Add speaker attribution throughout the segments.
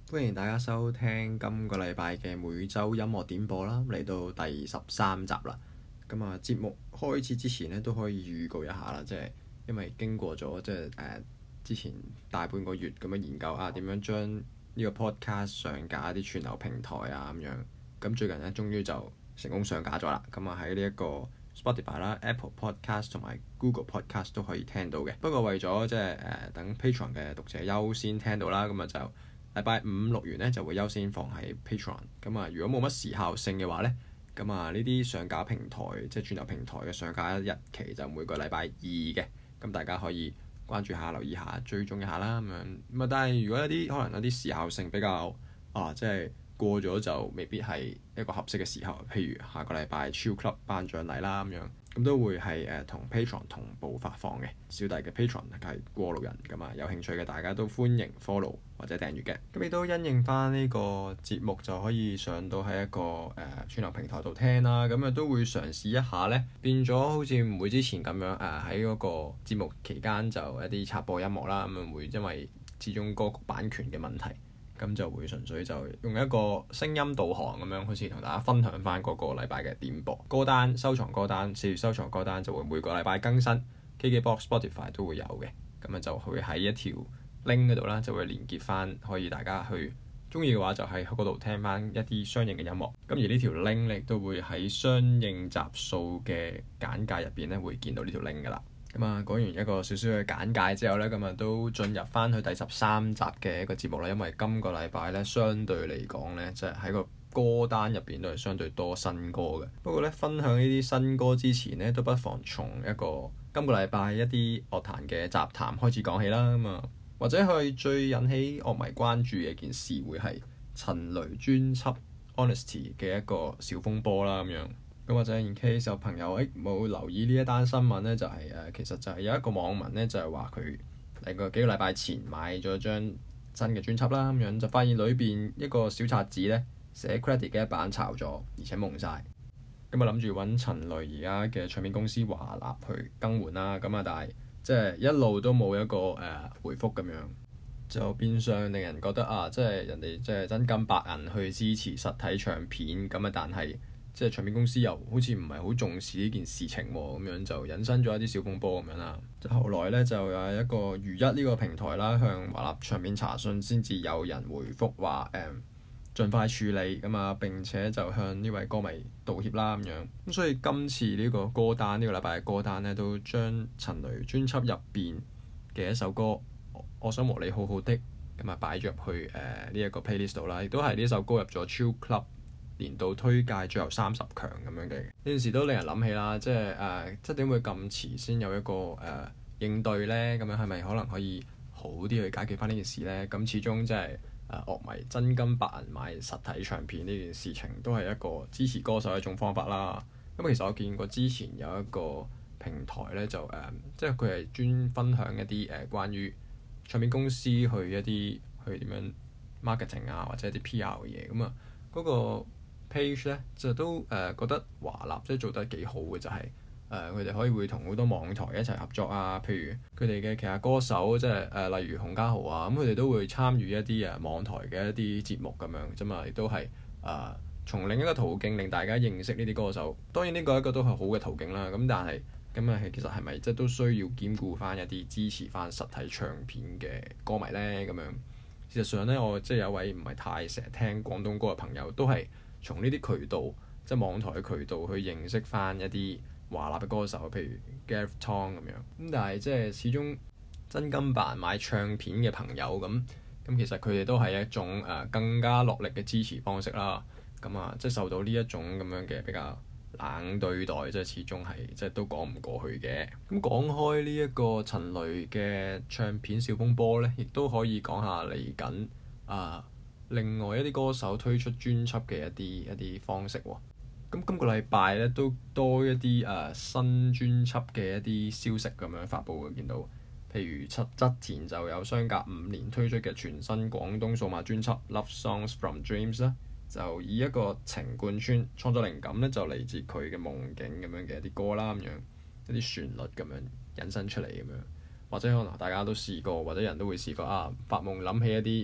Speaker 1: 歡迎大家收聽今個禮拜嘅每周音樂點播啦，嚟到第13集啦。咁啊，節目開始之前呢，都可以預告一下啦，即係因為經過咗之前大半個月咁樣研究啊，點樣將呢個 podcast 上架一啲串流平台啊咁樣。咁最近呢，終於就成功上架咗啦。咁啊喺呢一個 Spotify 啦、Apple Podcast 同埋 Google Podcast 都可以聽到嘅。不過為咗等 Patreon 嘅讀者優先聽到啦，咁啊就禮拜五錄完呢就會優先放喺 Patreon。咁啊，如果冇乜時效性嘅話呢，咁啊呢啲上架平台即係串流平台嘅上架日期就每個禮拜二嘅。咁大家可以關注下、留意下、追蹤一下啦咁樣。咁啊，但係如果可能有啲時效性比較即係過咗就未必係一個合適嘅時候，譬如下個禮拜超級頒獎禮啦咁樣，咁都會係同 Patreon 同步發放嘅。小弟嘅 Patreon 係過路人咁啊，有興趣嘅大家都歡迎 follow 或者訂閱嘅。咁亦都因應翻呢個節目就可以上到喺一個串流平台度聽啦。咁啊都會嘗試一下呢，變咗好似唔會之前咁樣喺嗰個節目期間就一啲插播音樂啦。咁啊會因為始終歌曲版權嘅問題。咁就會純粹就用一個聲音導航咁樣，好似同大家分享翻嗰個禮拜嘅點播歌單、收藏歌單、4月收藏歌單就會每個禮拜更新。KKBOX、Spotify 都會有嘅。咁啊就會喺一條 link 嗰度啦，就會連結翻，可以大家去中意嘅話就喺嗰度聽翻一啲相應嘅音樂。咁而呢條 link 亦都會喺相應集數嘅簡介入邊咧，會見到呢條 link 噶啦。咁啊，講完一個少少嘅簡介之後呢，咁啊都進入翻去第13集嘅一個節目啦。因為今個禮拜呢，相對嚟講呢，即係喺個歌單入邊都係相對多新歌嘅。不過呢，分享呢啲新歌之前呢，都不妨從一個今個禮拜一啲樂壇嘅雜談開始講起啦。咁啊，或者係最引起樂迷關注嘅一件事，會係陳蕾專輯 Honesty 嘅一個小風波啦咁樣。咁或者 in case 有朋友冇留意呢一單新聞呢，就係其實就係有一個網民呢，就係話佢幾個禮拜前買咗張新嘅專輯啦，咁樣就發現裏邊一個小冊子呢，寫 credit 嘅一版炒咗，而且蒙晒。咁啊諗住揾陳蕾而家嘅唱片公司華納去更換啦，咁啊但係即係一路都冇一個回覆咁樣，就變相令人覺得即係人哋即係真金白銀去支持實體唱片，咁啊但係即係唱片公司又好似唔係好重視呢件事情喎，咁樣就引申咗一啲小風波咁樣啦。就後來呢，就有一個如一呢個平台啦，向華納唱片查詢，先至有人回覆話盡快處理咁啊，並且就向呢位歌迷道歉啦咁樣。咁所以今次呢個歌單呢個禮拜嘅歌單呢，都將陳蕾專輯入邊嘅一首歌我想和你好好的咁啊擺咗入去呢一個 playlist 度啦，亦都係呢首歌入咗 Chill Club年度推介最後30強咁樣嘅。呢件事都令人諗起啦，即係點會咁遲先有一個應對呢？咁樣係咪可能可以好啲去解決翻呢件事呢？咁始終即係樂迷真金白銀買實體唱片呢件事情，都係一個支持歌手嘅一種方法啦。咁其實我見過之前有一個平台呢，就即係佢係專分享一啲關於唱片公司去一啲去點樣 marketing 啊，或者一啲 PR 嘅嘢。咁啊嗰個 page 咧就都覺得華納即係做得幾好嘅，就係佢哋可以會同好多網台一齊合作啊。譬如佢哋嘅其他歌手，即係例如洪嘉豪啊，咁佢哋都會參與一啲網台嘅一啲節目咁樣啫嘛，亦都係從另一個途徑令大家認識呢啲歌手。當然呢個一個都係好嘅途徑啦。咁但係咁其實係咪即係都需要兼顧翻一啲支持翻實體唱片嘅歌迷呢？咁樣事實上呢，我即係有位唔係太成日聽廣東歌嘅朋友，都係從呢啲渠道，即係網台嘅渠道去認識翻一啲華納嘅歌手，譬如 Gareth Tong 咁樣。咁但係即係始終真金白銀買唱片嘅朋友咁，其實佢哋都係一種更加落力嘅支持方式啦。咁即係受到呢一種咁樣嘅比較冷對待，即係始終係即係都講唔過去嘅。咁講開呢一個陳蕾嘅唱片小風波呢，亦都可以講下嚟緊另外一啲歌手推出專輯嘅一啲方式喎。咁今個禮拜咧都多一啲新專輯嘅一啲消息咁樣發布嘅，見到譬如側田就有相隔5年推出嘅全新廣東數碼專輯《Love Songs from Dreams》啦，就以一個情貫穿，創作靈感咧就嚟自佢嘅夢境咁樣嘅一啲歌啦，咁樣一啲旋律咁樣引申出嚟咁樣，或者可能大家都試過，或者人都會試過發夢諗起一啲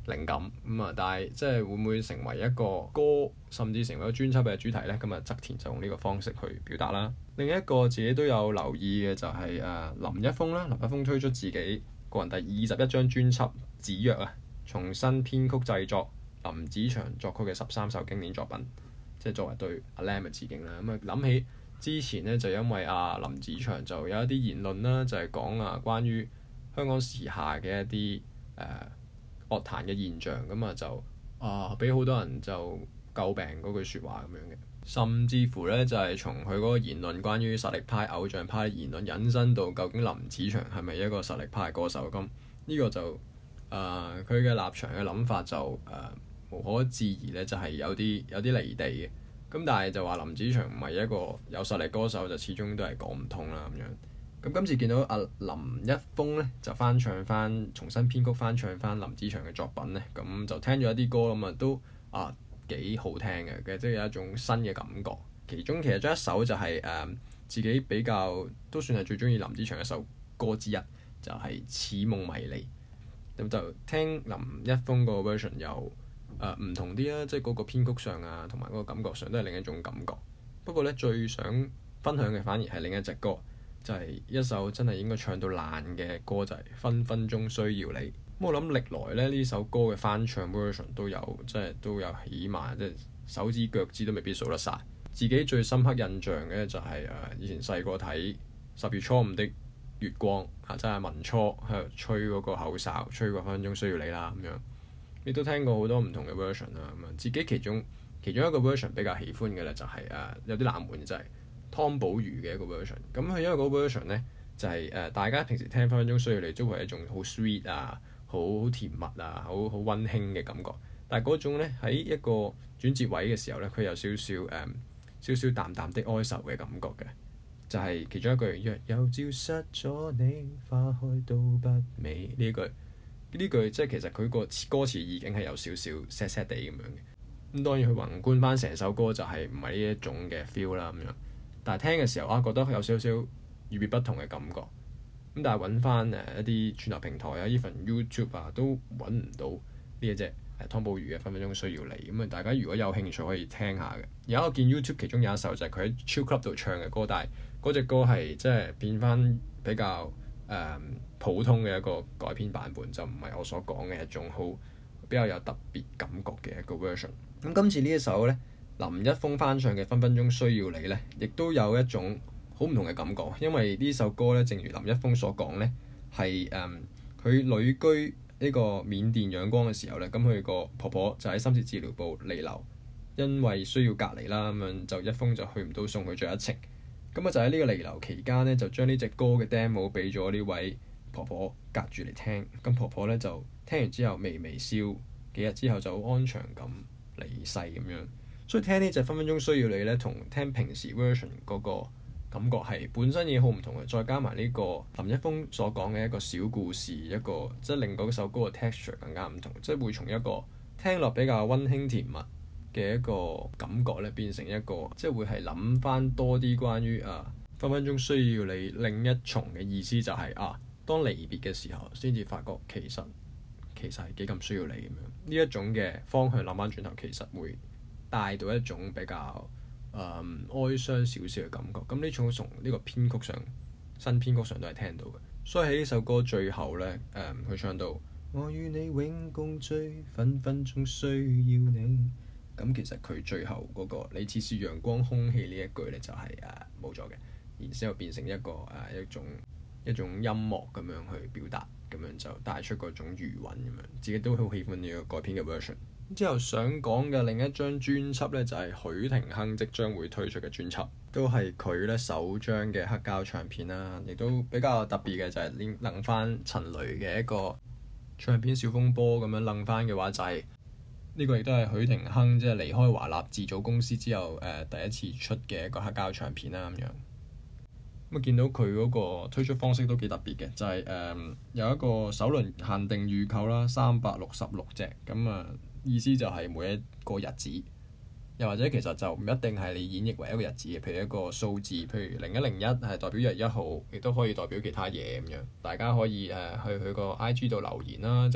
Speaker 1: 靈感咁啊，但係即係會唔會成為一個歌，甚至成為一個專輯嘅主題呢？咁啊，側田就用呢個方式去表達啦。另一個自己都有留意嘅就係林一峰啦。林一峰推出自己個人第21張專輯《子曰》啊，重新編曲製作林子祥作曲嘅13首經典作品，即係作為對阿 Lam 嘅致敬啦。咁啊，諗起之前呢，就因為林子祥就有一啲言論啦，就係講關於香港時下嘅一啲樂壇嘅現象，咁啊就俾好多人就詬病嗰句説話咁樣嘅，甚至乎呢，就係從佢嗰個言論關於實力派偶像派嘅言論引申到究竟林子祥係咪一個實力派歌手？咁呢個就佢嘅立場嘅諗法就無可置疑呢，就係有啲離地嘅。咁但係就話林子祥唔係一個有實力歌手，就始終都係講唔通啦咁樣。咁今次見到林一峰咧，就重新編曲翻唱翻林子祥嘅作品咧，咁就聽咗一啲歌咁啊，都幾好聽嘅，即係有一種新嘅感覺。其中其實有一首就係自己比較都算係最中意林子祥嘅一首歌之一，就係《似夢迷離》。咁就聽林一峰個 version 又唔同啲啦，即係嗰個編曲上同埋嗰個感覺上都係另一種感覺。不過咧，最想分享嘅反而係另一隻歌。就係一首真係應該唱到爛嘅歌，就係分分鐘需要你。咁我諗歷來咧呢首歌嘅翻唱 version 都有，即係都有起碼即係手指腳趾都未必數得晒。自己最深刻印象嘅就係以前細個睇10月初5的月光即係文初喺度吹嗰個口哨，吹過分分鐘需要你啦咁樣。亦都聽過好多唔同嘅 version 啦咁啊。自己其中一個 version 比較喜歡嘅咧就係有啲冷門就係湯寶如嘅一個 version， 咁佢因為嗰個 version 咧就係大家平時聽分分鐘需要你都係一種好 sweet 好甜蜜好溫馨嘅感覺，但係嗰種咧喺一個轉折位嘅時候咧，佢有少少淡淡的哀愁嘅感覺嘅，就係其中一句若有消失咗你，花開都不美呢句即係其實佢個歌詞意境係有少少 sad 地咁樣嘅。咁當然佢宏觀翻成首歌就係唔係呢一種嘅 feel 啦咁樣。但係聽嘅時候覺得有少少與別不同嘅感覺。咁但係揾翻一啲串流平台even YouTube 都揾唔到呢一隻湯寶如嘅分分鐘需要你。咁大家如果有興趣可以聽下嘅。而家我見 YouTube 其中有一首就係佢喺 Chill Club 度唱嘅歌，但係嗰隻歌係即係變翻比較普通嘅一個改編版本，就唔係我所講嘅一種好比較有特別感覺嘅一個 version。咁今次呢一首呢，林一峰翻唱嘅分分鐘需要你呢，亦都有一種好唔同嘅感覺，因為呢首歌呢，正如林一峰所講呢，係佢旅居呢個緬甸仰光嘅時候呢，咁佢個婆婆就喺深切治療部彌留，因為需要隔離啦，咁樣就一峰就去唔到送佢最後一程，咁就喺呢個彌留期間呢，就將呢隻歌嘅 demo 俾咗呢位婆婆隔住嚟聽，咁婆婆呢，就聽完之後微微笑，幾日之後就好安詳咁離世咁樣。所以聽呢隻分分鐘需要你咧，同聽平時 version 嗰個感覺係本身已經好唔同嘅，再加埋呢個林一峰所講嘅一個小故事，一個即係令嗰首歌嘅 texture 更加唔同，即係會從一個聽落比較溫馨甜蜜嘅一個感覺咧，變成一個即係會係諗翻多啲關於分分鐘需要你另一重嘅意思，就係當離別嘅時候先至發覺其實係幾咁需要你咁樣。呢一種嘅方向諗翻轉頭，其實會帶到一種比較哀傷少少嘅感覺。咁呢種從呢個編曲上，新編曲上都係聽到嘅。所以喺呢首歌最後呢，佢唱到我與你永共聚，分分鐘需要你。咁其實佢最後嗰個你似是陽光空氣呢一句呢，就係冇咗嘅，然之後變成一個一種音樂咁樣去表達，咁樣就帶出嗰種餘韻咁樣。自己都好喜歡呢個改編嘅 version。之後想講嘅另一張專輯呢，就係許廷鏗即將會推出嘅專輯，都係佢呢首張嘅黑膠唱片啦，亦都比較特別嘅就係諗翻陳雷嘅一個唱片小風波咁樣諗翻嘅話，就係呢個亦都係許廷鏗即係離開華納自組公司之後第一次出嘅一個黑膠唱片啦咁樣。咁見到佢嗰個推出方式都幾特別嘅，就係有一個首輪限定預購啦，366隻咁意思就係每一個日子，又或者其實就唔一定係你演繹為一個日子嘅，譬如一個數字，譬如0101係代表1月1號，亦都可以代表其他嘢咁樣。大家可以去佢個 IG 度留言啦，就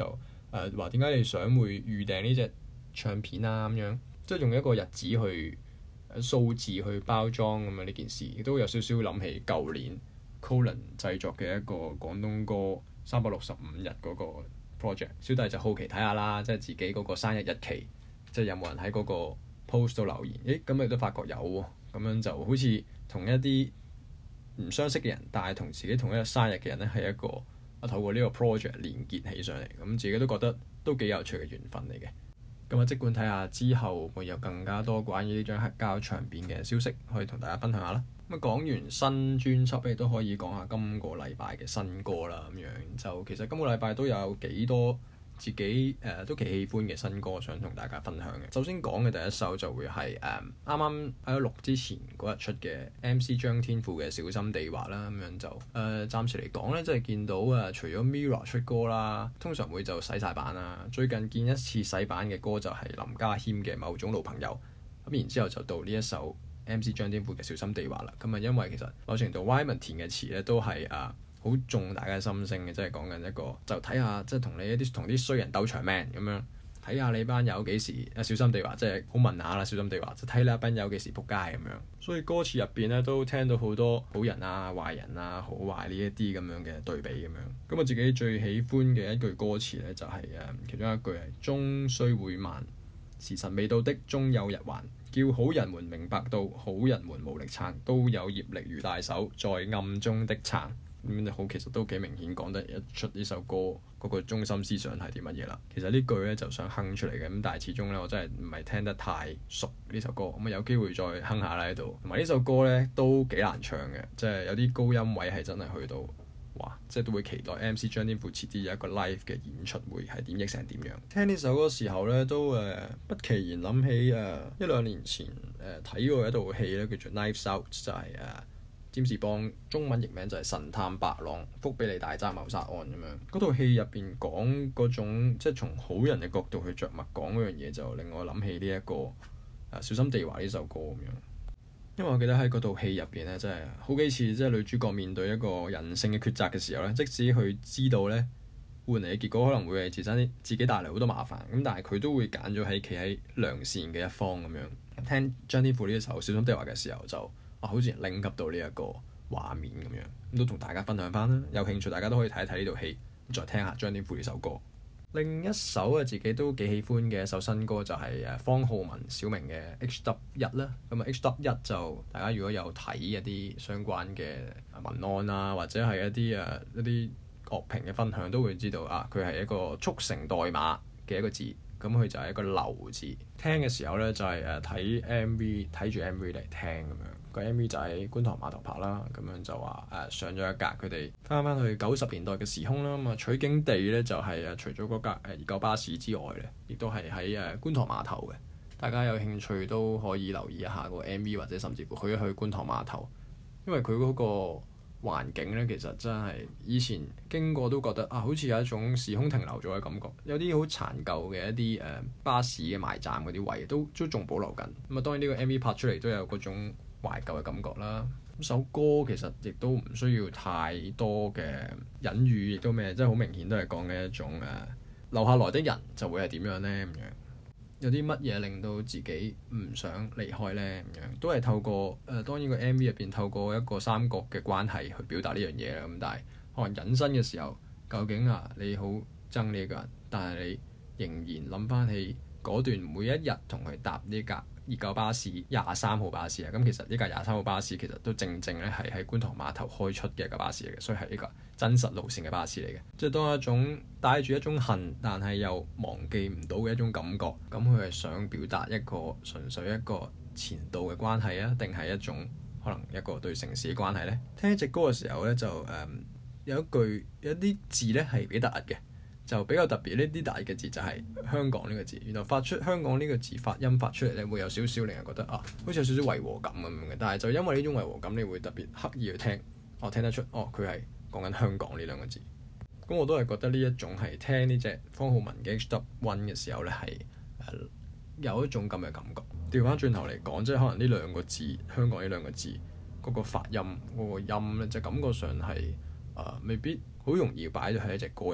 Speaker 1: 話點解你想會預訂呢隻唱片啊咁樣，即係用一個日子去數字去包裝咁樣呢件事，亦都有少少諗起舊年 Colin 製作嘅一個廣東歌365日嗰個 project。小弟就好奇睇下啦，即係自己嗰個生日日期，即係有冇人喺嗰個 post 度留言？咁你都發覺有喎，咁樣就好似同一啲唔相識嘅人，但係同自己同一日生日嘅人咧，係一個透過呢個 project 連結起上嚟，咁自己都覺得都幾有趣嘅緣分嚟嘅。咁即管睇下之後會有更加多關於呢張黑膠唱片嘅消息，可以同大家分享下啦。咁講完新專輯咧，都可以講下今個禮拜嘅新歌啦。咁樣就其實今個禮拜都有幾多自己都幾喜歡嘅新歌想同大家分享嘅。首先講嘅第一首就會係啱啱喺錄之前嗰日出嘅 MC 張天賦嘅小心地滑啦。咁樣就暫時嚟講咧，即係見到除咗 Mirror 出歌啦，通常會就洗晒版啦。最近見一次洗版嘅歌就係林家謙嘅某種老朋友。咁然之後就到呢一首 MC 張天賦嘅小心地滑啦。咁因為其實某程度 Wyman 填嘅詞咧都係好中大家心聲嘅，即係講緊一個就睇下，即係同啲衰人鬥長命咁樣，睇下你班友幾時小心地滑，即係好問下啦，小心地滑，就睇你班友幾時仆街咁樣。所以歌詞入邊咧都聽到好多好人啊、壞人啊、好壞呢一啲咁樣嘅對比咁樣。咁我自己最喜歡嘅一句歌詞咧就係其中一句係終須會慢，時辰未到的終有日還，叫好人們明白到好人們無力撐，都有業力如大手在暗中的撐。咁好，其實都幾明顯講得一出呢首歌嗰個中心思想係啲乜嘢啦。其實呢句咧就想哼出嚟嘅，咁但係始終咧我真係唔係聽得太熟呢首歌，咁有機會再哼下啦喺度。同埋呢首歌咧都幾難唱嘅，即係有啲高音位係真係去到哇，即係都會期待 MC 張天賦遲啲有一個 live 嘅演出會係點譯成點樣。聽呢首歌時候咧都不期然諗起一兩年前睇過一套戲咧叫做 Knives Out， 就係占士邦中文譯名就係神探白朗福比利大宅謀殺案咁樣。嗰套戲入邊講嗰種即係從好人嘅角度去着墨講嗰樣嘢，就令我諗起呢一個小心地滑呢首歌咁樣。因為我記得喺嗰套戲入邊咧，真係好幾次即係女主角面對一個人性嘅抉擇嘅時候咧，即使佢知道咧換嚟嘅結果可能會係自己帶嚟好多麻煩，咁但係佢都會揀咗喺企喺良善嘅一方咁樣。聽張天賦呢一首小心地滑嘅時候就好似拎及到呢一個畫面咁樣，咁都同大家分享翻啦。有興趣大家都可以睇一睇呢套戲，再聽下張天賦呢首歌。另一首自己都幾喜歡嘅一首新歌就係方皓玟小明嘅 HW1 啦。咁HW1 就大家如果有睇一啲相關嘅文案啊，或者係一啲樂評嘅分享，都會知道佢係一個速成代碼嘅一個字。咁佢就係一個流字。聽嘅時候咧就係睇 MV， 睇住 MV 嚟聽咁樣。個 MV 就喺觀塘碼頭拍啦，咁樣就話上咗一格佢哋翻去90年代嘅時空啦。咁取景地咧就係除咗嗰架熱狗巴士之外咧，亦都係喺觀塘碼頭嘅。大家有興趣都可以留意一下個 MV， 或者甚至乎去一去觀塘碼頭，因為佢嗰個環境咧其實真係以前經過都覺得好似有一種時空停留咗嘅感覺，有啲好殘舊嘅一啲巴士嘅埋站嗰啲位都仲保留緊。咁當然呢個 MV 拍出嚟都有嗰種懷舊嘅感覺啦。咁首歌其實亦都唔需要太多嘅隱喻，亦都咩，即係好明顯都係講嘅一種留下來的人就會係點樣呢？咁樣。有啲乜嘢令到自己唔想離開呢？咁樣都係透過當然個 MV 入邊透過一個三角嘅關係去表達呢樣嘢啦。咁但係可能隱身嘅時候，究竟你好憎呢一個人，但係你仍然諗翻起嗰段每一日同佢搭呢架熱狗巴士23號巴士啊。咁其實呢架23號巴士其實都正咧係喺觀塘碼頭開出嘅一個巴士嚟嘅，所以係一個真實路線嘅巴士嚟嘅。即係當一種帶住一種恨，但係又忘記唔到嘅一種感覺。咁佢係想表達一個純粹一個前度嘅關係啊，定係一種可能一個對城市嘅關係呢？聽呢隻歌嘅時候呢，就有啲字呢係幾突兀嘅，就比較特別。呢啲突兀嘅字就係香港呢個字。原來發出香港呢個字發音發出嚟呢，會有少少令人覺得好似有少少違和感咁樣嘅。但係就因為呢種違和感，你會特別刻意去聽，聽得出佢係講緊香港呢兩個字。咁我都係覺得呢一種係聽呢隻方皓玟嘅 HW1 嘅時候呢，係有一種咁嘅感覺。調翻轉頭嚟講，即係可能呢兩個字香港呢兩個字嗰個發音嗰個音呢，就感覺上係未必好容易擺咗喺一隻歌入邊嘅。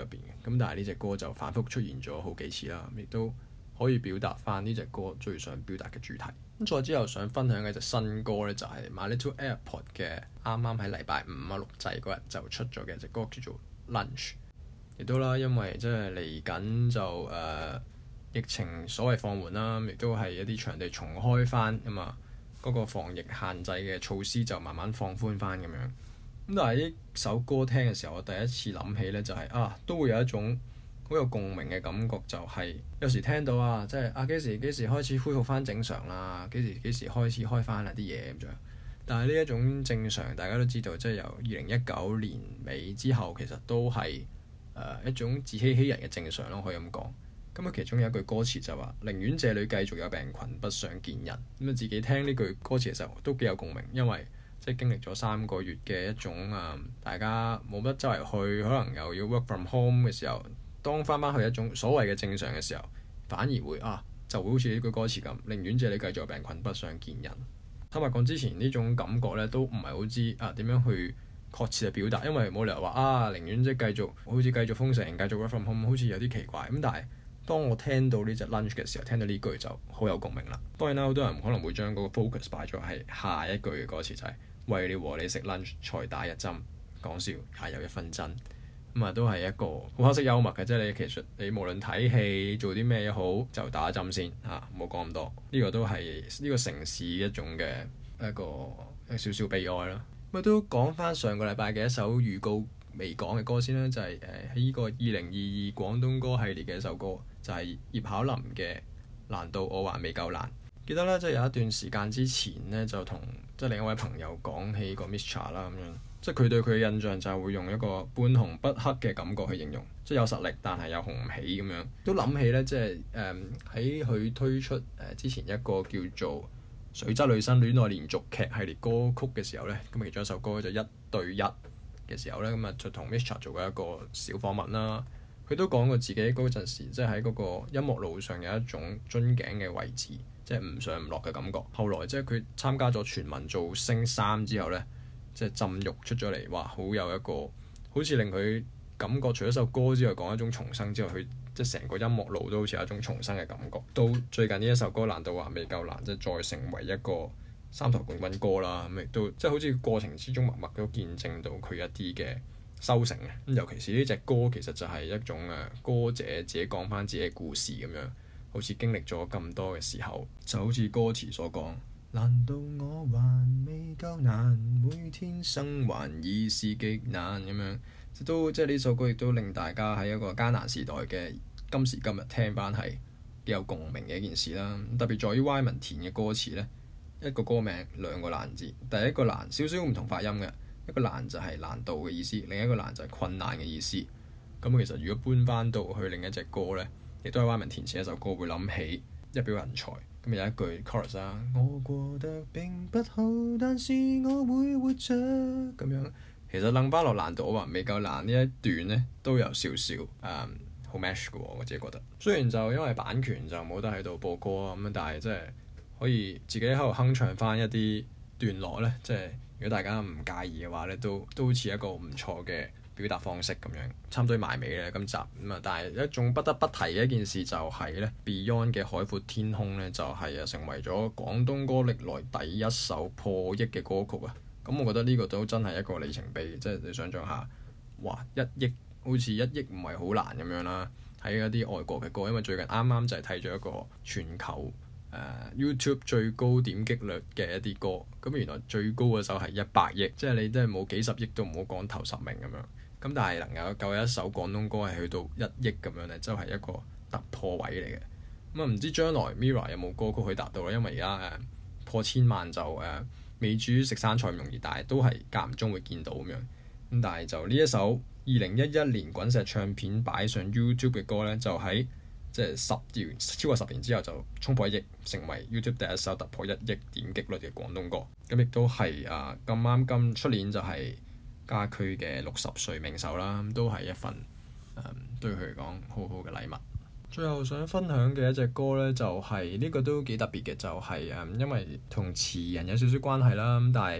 Speaker 1: 咁但係呢隻歌就反覆出現咗好幾次啦，亦都可以表達翻呢隻歌最想表達嘅主題。咁再之後想分享嘅隻新歌咧，就係 My Little Airport 嘅，啱啱喺禮拜五錄製嗰日就出咗嘅一隻歌叫做 Lunch。亦都啦，因為即係嚟緊就疫情所謂放緩啦，亦都係一啲場地重開翻啊嘛，嗰個防疫限制嘅措施就慢慢放寬翻咁樣。咁但係呢首歌聽嘅時候，我第一次諗起咧就係都會有一種好有共鳴嘅感覺，就係有時聽到即係幾時開始恢復翻正常啦，幾時開始開翻啲嘢咁樣。但係呢一種正常，大家都知道，即係由2019年尾之後，其實都係一種自欺欺人嘅正常咯，可以咁講。咁其中有一句歌詞就話：寧願這裡繼續有病菌，不想見人。咁自己聽呢句歌詞嘅時候都幾有共鳴，因為即係經歷咗3個月嘅一種大家冇乜周圍去，可能又要 work from home 嘅時候，當翻去一種所謂嘅正常嘅時候，反而會就會好似呢句歌詞咁，寧願這裡繼續有病菌，不想見人。坦白講，之前呢種感覺咧都唔係好知點樣去確切嘅表達，因為冇理由話寧願即係繼續封城，繼續 work from home，好似有啲奇怪。咁但係當我聽到呢隻 Lunch 嘅時候，聽到呢句就好有共鳴啦。當然啦，好多人可能會將嗰個 focus 擺咗係下一句嘅歌詞，就係為了和你食 lunch 才打一針，講笑也有一分真。咁都係一個好黑色幽默嘅，即係其實你無論睇戲做啲咩也好，就打一針先唔好講咁多。呢個都係呢個城市一種嘅一個少少悲哀啦。咁都講翻上個禮拜嘅一首預告未講嘅歌先啦，就係喺呢個2022廣東歌系列嘅一首歌，就係葉巧琳嘅《難道我還未夠難》。記得咧，即係有一段時間之前呢，就同另一位朋友講起個 Mischa 啦，咁樣即係佢對佢嘅印象就係會用一個半紅不黑嘅感覺去形容，即係有實力但係又紅唔起咁樣。都諗起咧，即係喺佢推出之前一個叫做《水質女生戀愛連續劇》系列歌曲嘅時候咧，咁其中一首歌就1對1嘅時候咧，咁就同 Mischa 做過一個小訪問啦。佢都講過自己嗰陣時，即係喺嗰個音樂路上有一種樽頸嘅位置，即係唔上唔落嘅感覺。後來即係佢參加咗全民造星3之後咧，即係浸浴出咗嚟，好有一個好似令佢感覺除咗首歌之外講一種重生之外，佢即係成個音樂路都好似有一種重生嘅感覺。到最近呢一首歌難道還未夠難，即係再成為一個3台冠軍歌啦，咁亦都即係好似過程之中默默都見證到佢一啲嘅收成嘅。咁尤其是呢隻歌其實就係一種歌者自己講翻自己嘅故事咁樣，好似經歷咗咁多嘅時候，就好似歌詞所講，難道我還未夠難，每天生還已是極難咁樣，都即係呢首歌亦都令大家喺一個艱難時代嘅今時今日聽翻係幾有共鳴嘅一件事啦。特別在於 Wyman 填嘅歌詞呢，一個歌名2個難字，第一個難少少唔同發音嘅，一個難就係難度嘅意思，另一個難就係困難嘅意思。咁其實如果搬翻到去另一隻歌呢，亦都係 Wyman 填詞一首歌，會諗起一表人才。咁有一句 chorus 我過得並不好，但是我會活着咁樣。其實諗翻落難度我還未夠難呢一段呢，都有少少好 match 嘅喎，我自己覺得。雖然就因為版權就冇得喺度播歌咁，但係即係可以自己喺度哼唱翻一啲段落呢，即係如果大家唔介意嘅話呢，都好似一個唔錯嘅表達方式咁樣。差唔多埋尾咧今集咁但係一種不得不提嘅一件事就係呢 Beyond 嘅海闊天空呢，就係成為咗廣東歌歷來第一首破億嘅歌曲啊！咁我覺得呢個都真係一個里程碑，即係你想象下，哇1億好似1億唔係好難咁樣啦，喺一啲外國嘅歌，因為最近啱啱就係睇咗一個全球YouTube 最高點擊率嘅一啲歌，咁原來最高嘅首係100億，即係你真係冇幾十億都唔好講頭10名咁樣。咁但係能夠一首廣東歌係去到1億咁樣咧，就係一個突破位嚟嘅。咁唔知將來 Mirror 有冇歌曲去達到咧？因為而家破1000萬就未至於食生菜咁容易，但係都係間唔中會見到咁樣。咁但係就呢一首2011年滾石唱片擺上 YouTube 嘅歌咧，就喺即係超過10年之後就衝破1億，成為 YouTube 第一首突破1億點擊率嘅廣東歌。咁亦都係咁啱出年就係家駒嘅60歲冥壽啦，都係一份對佢嚟講好好嘅禮物。最後想分享嘅一隻歌呢，就係呢個都幾特別嘅，就係因為同詞人有少少關係啦。咁但係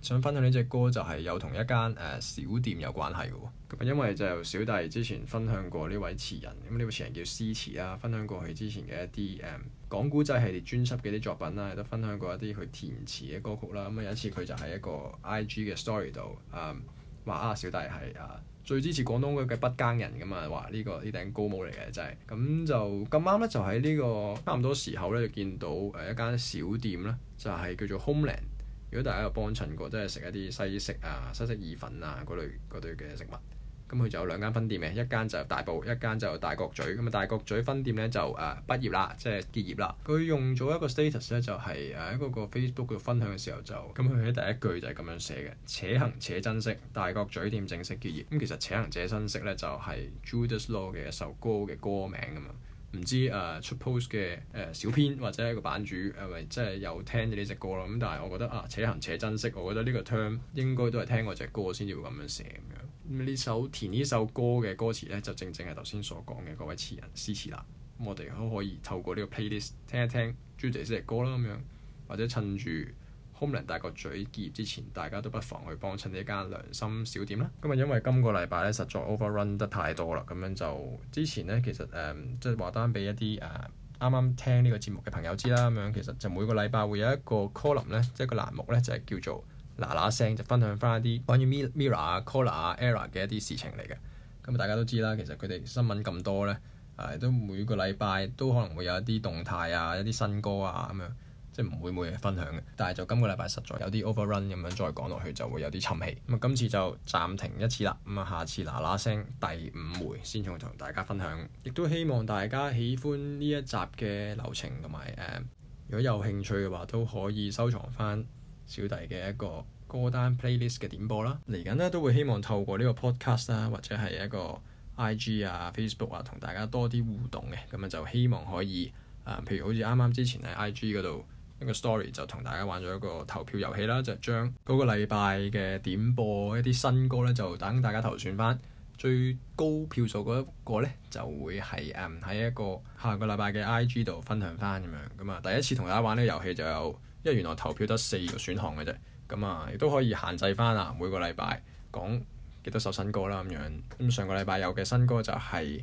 Speaker 1: 想分享呢隻歌就係有同一間小店有關係嘅喎。咁因為就小弟之前分享過呢位詞人，咁呢位詞人叫詩詞啦，分享過佢之前嘅一啲講古仔系列專輯嘅啲作品啦，亦都分享過一啲佢填詞嘅歌曲啦。咁有一次佢就喺一個 IG 嘅 story 度話小弟係最支持廣東嘅筆耕人咁啊，話呢頂高帽嚟嘅真係。咁就咁啱咧，就喺呢個差唔多時候咧，就見到一間小店咧，就係叫做 Homeland。如果大家有幫襯過，即係食一啲西式意粉啊嗰類嘅食物，咁佢就有2間分店嘅，一間就大埔，一間就大角咀。咁啊大角咀分店咧就畢業啦，即係結業啦。佢用咗一個 status 咧，就係喺嗰個 Facebook 度分享嘅時候就咁，佢喺第一句就係咁樣寫嘅：且行且珍惜，大角咀店正式結業。咁其實且行且珍惜咧就係 Judas Law 嘅一首歌嘅歌名啊嘛。唔知出 post 嘅小編或者一個版主係咪即係有聽咗呢隻歌咯？咁但係我覺得且行且珍惜，我覺得呢個 term 應該都係聽過隻歌先至會咁樣寫咁樣。咁填呢首歌嘅歌詞咧，就正係頭先所講嘅嗰位詞人詩詞啦。咁我哋都可以透過呢個 playlist 聽一聽 Judas 呢隻歌啦咁樣，或者趁住Homeland大角咀結業之前，大家都不妨去幫襯呢間良心小店啦。咁因為今個禮拜咧實在 overrun 得太多啦，咁樣就之前咧其實即係話單俾一啲啱啱聽呢個節目嘅朋友知啦。咁樣其實就每個禮拜會有一個 column 咧，即係個欄目咧，就係叫做嗱嗱聲，就分享翻一啲關於 Mirror 啊、Collar 啊、Error 嘅一啲事情嚟嘅。咁大家都知啦，其實佢哋新聞咁多咧，都每個禮拜都可能會有一啲動態啊、一啲新歌啊咁樣。即係唔會每日分享嘅，但係就今個禮拜實在有啲 overrun 咁樣，再講落去就會有啲沉氣。咁今次就暫停一次啦。咁下次嗱嗱聲第5回先同大家分享。亦都希望大家喜歡呢一集嘅流程，同埋如果有興趣嘅話，都可以收藏翻小弟嘅一個歌單 playlist 嘅點播啦。嚟緊呢都會希望透過呢個 podcast 啦，或者係一個 IG 啊、Facebook 啊，同大家多啲互動嘅。咁就希望可以譬如好似啱啱之前喺 IG 嗰度一個 story 就同大家玩咗一個投票遊戲啦，就將嗰個禮拜嘅點播一啲新歌咧，就等大家投選翻最高票數嗰一個咧，就會係喺一個下個禮拜嘅 IG 度分享翻咁樣。咁啊，第一次同大家玩呢個遊戲就有，因為原來投票得4個選項嘅啫。咁啊，亦都可以限制翻每個禮拜講幾多首新歌啦咁樣。咁上個禮拜有嘅新歌就係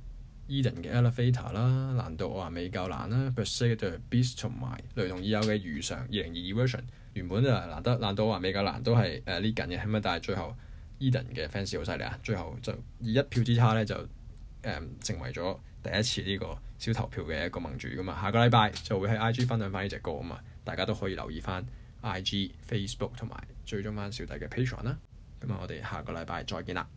Speaker 1: Eden 嘅 Elevator 啦，難道我話未夠難啦 Per Se 嘅 Beast 同埋雷同已有嘅如常2022 version， 原本就難道我話未夠難都係呢緊嘅，咁但係最後 Eden 嘅 fans 好犀利啊，最後就以1票之差咧就成為咗第一次呢個小投票嘅一個盟主噶嘛。下個禮拜就會喺 IG 分享翻呢隻歌啊嘛，大家都可以留意翻 IG、Facebook 同埋追蹤翻小弟嘅 Patreon 啦。咁我哋下個禮拜再見啦，